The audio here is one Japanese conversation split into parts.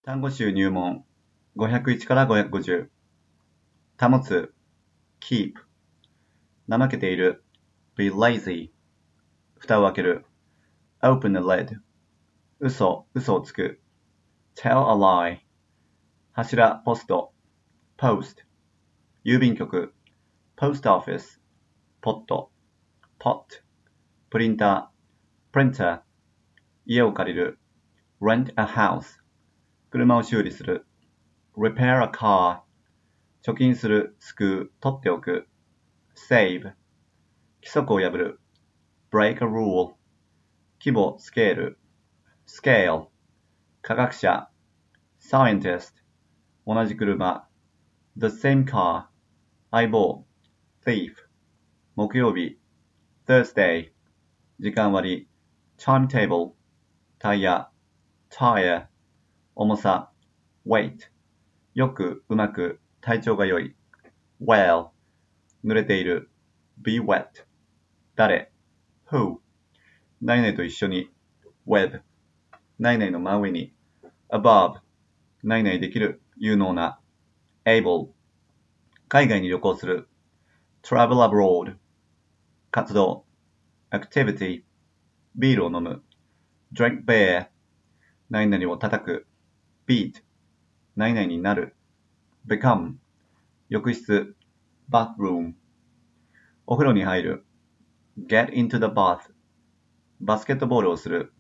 単語集入門501から550保つ keep 怠けている be lazy 蓋を開ける open the lid 嘘をつく tell a lie 柱ポスト post 郵便局 post office ポット pot プリンター printer 家を借りる rent a house 車を修理する repair a car 貯金する、救う、取っておく save 規則を破る break a rule 規模、スケール scale 科学者 scientist 同じ車 the same car 相棒 thief 木曜日 Thursday 時間割 timetable タイヤ tire 重さ weight よく、うまく、体調が良い well 濡れている be wet 誰 who 何々と一緒に with 何々の真上に above 何々できる、有能な able 海外に旅行する travel abroad 活動 activity ビールを飲む drink beer 何々を叩く beat 何々になる become 浴室 bathroom お風呂に入る get into the bath バスケットボールをする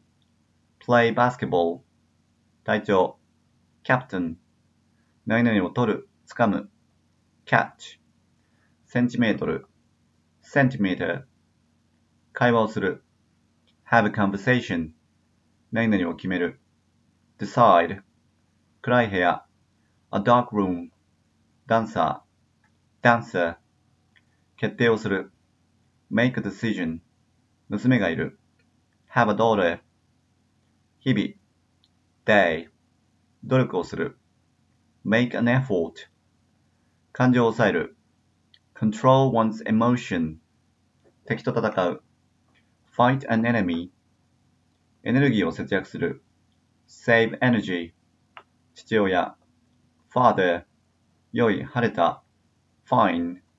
play basketball 隊長 captain 何々を取る、掴む catch センチメートル centimeter 会話をする have a conversation 何々を決める decide 暗い部屋 a dark room ダンサー dancer 決定をする make a decision 娘がいる have a daughter 日々 day 努力をする make an effort 感情を抑える control one's emotion 敵と戦う fight an enemy エネルギーを節約する save energy 父親 father 良い、晴れた fine